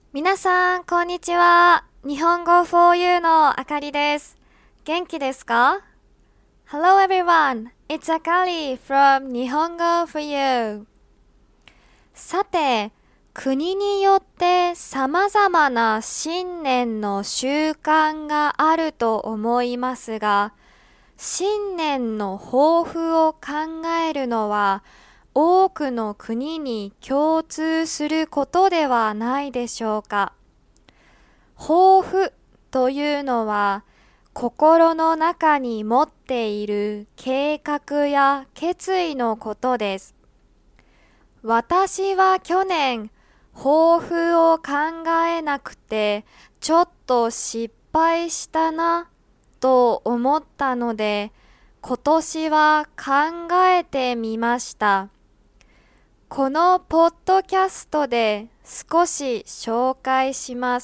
皆さん、こんにちは。日本語 4U のあかりです。元気ですか？ Hello everyone, it's Akari from 日本語 4U。さて、国によって様々な新年の習慣があると思いますが、新年の抱負を考えるのは多くの国に共通することではないでしょうか。抱負というのは心の中に持っている計画や決意のことです。私は去年抱負を考えなくてちょっと失敗したなと思ったので今年は考えてみました。このポッドキャストで少し紹介します。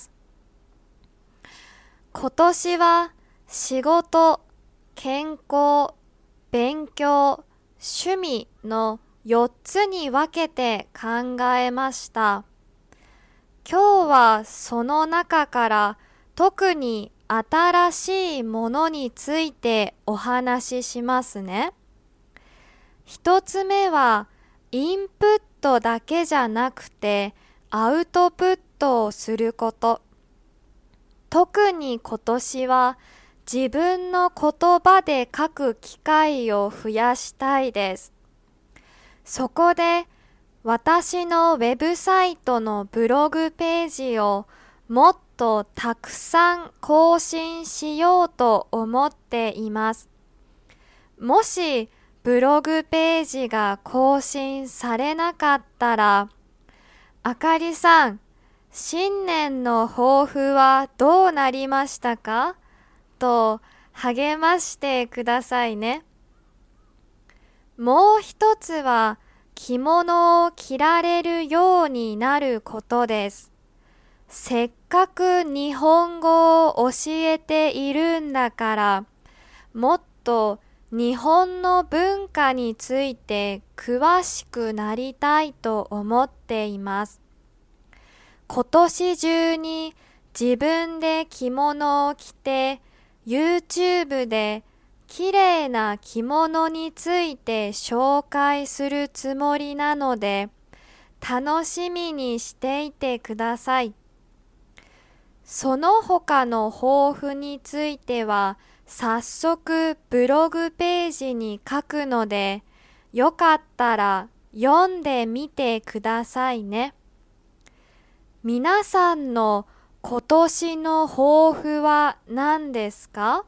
今年は仕事、健康、勉強、趣味の4つに分けて考えました。今日はその中から特に新しいものについてお話ししますね。一つ目はインプットだけじゃなくてアウトプットをすること。特に今年は自分の言葉で書く機会を増やしたいです。そこで私のウェブサイトのブログページをもっとたくさん更新しようと思っています。もしブログページが更新されなかったら、あかりさん、新年の抱負はどうなりましたか？と励ましてくださいね。もう一つは着物を着られるようになることです。せっかく日本語を教えているんだから、もっと日本の文化について詳しくなりたいと思っています。今年中に自分で着物を着て YouTube で綺麗な着物について紹介するつもりなので楽しみにしていてください。その他の抱負については早速ブログページに書くのでよかったら読んでみてくださいね。皆さんの今年の抱負は何ですか？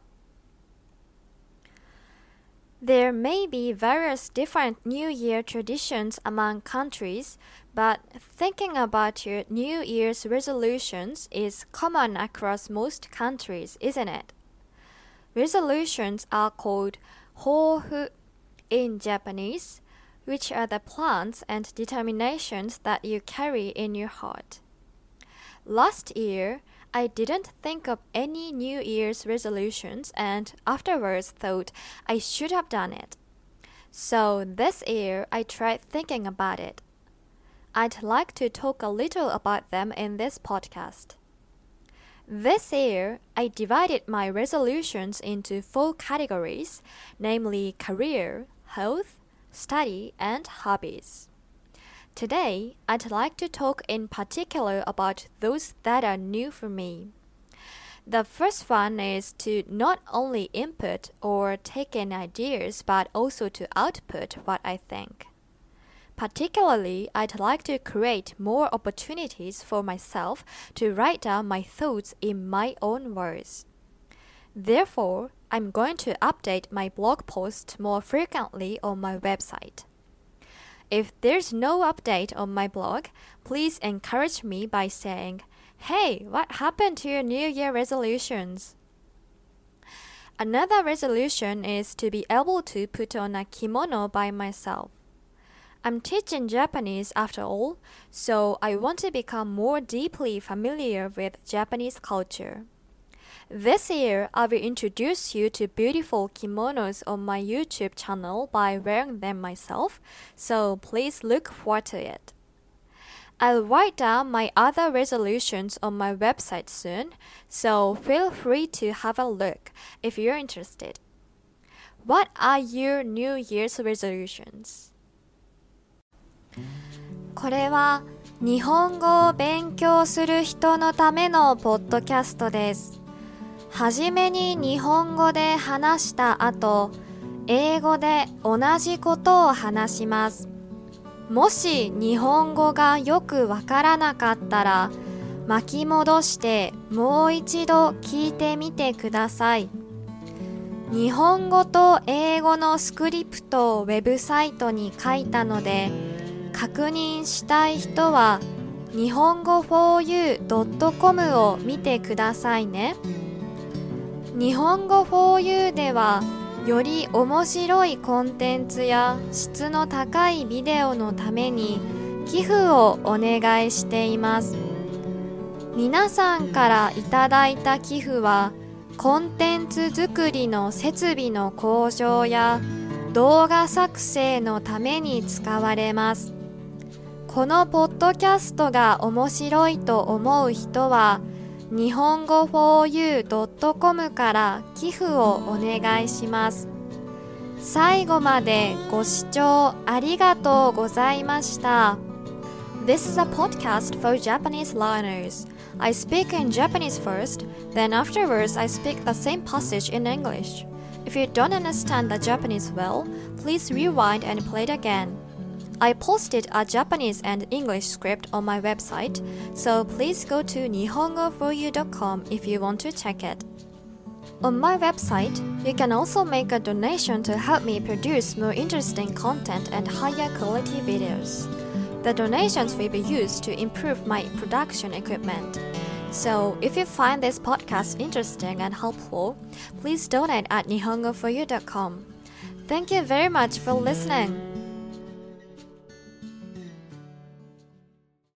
There may be various different New Year traditions among countries, but thinking about your New Year's resolutions is common across most countries, isn't it? Resolutions are called 抱負 in Japanese, which are the plans and determinations that you carry in your heart. Last year, I didn't think of any New Year's resolutions and afterwards thought I should have done it. So this year, I tried thinking about it. I'd like to talk a little about them in this podcast. This year, I divided my resolutions into 4 categories, namely career, health, study, and hobbies. Today, I'd like to talk in particular about those that are new for me. The first one is to not only input or take in ideas but also to output what I think. Particularly, I'd like to create more opportunities for myself to write down my thoughts in my own words. Therefore, I'm going to update my blog posts more frequently on my website. If there's no update on my blog, please encourage me by saying, "Hey, what happened to your New Year resolutions?" Another resolution is to be able to put on a kimono by myself. I'm teaching Japanese after all, so I want to become more deeply familiar with Japanese culture. This year, I will introduce you to beautiful kimonos on my YouTube channel by wearing them myself, so please look forward to it. I'll write down my other resolutions on my website soon, so feel free to have a look if you're interested. What are your New Year's resolutions? これは日本語を勉強する人のためのポッドキャストです。はじめに日本語で話した後、英語で同じことを話します。もし日本語がよくわからなかったら、巻き戻してもう一度聞いてみてください。日本語と英語のスクリプトをウェブサイトに書いたので、確認したい人は日本語 4u.com を見てくださいね。日本語 4u ではより面白いコンテンツや質の高いビデオのために寄付をお願いしています。皆さんからいただいた寄付はコンテンツ作りの設備の向上や動画作成のために使われます。このポッドキャストが面白いと思う人は日本語 4u.com から寄付をお願いします。最後までご視聴ありがとうございました。This is a podcast for Japanese learners. I speak in Japanese first, then afterwards I speak the same passage in English. If you don't understand the Japanese well, please rewind and play it again.I posted a Japanese and English script on my website, so please go to nihongo4u.com if you want to check it. On my website, you can also make a donation to help me produce more interesting content and higher quality videos. The donations will be used to improve my production equipment. So, if you find this podcast interesting and helpful, please donate at nihongo4u.com. Thank you very much for listening.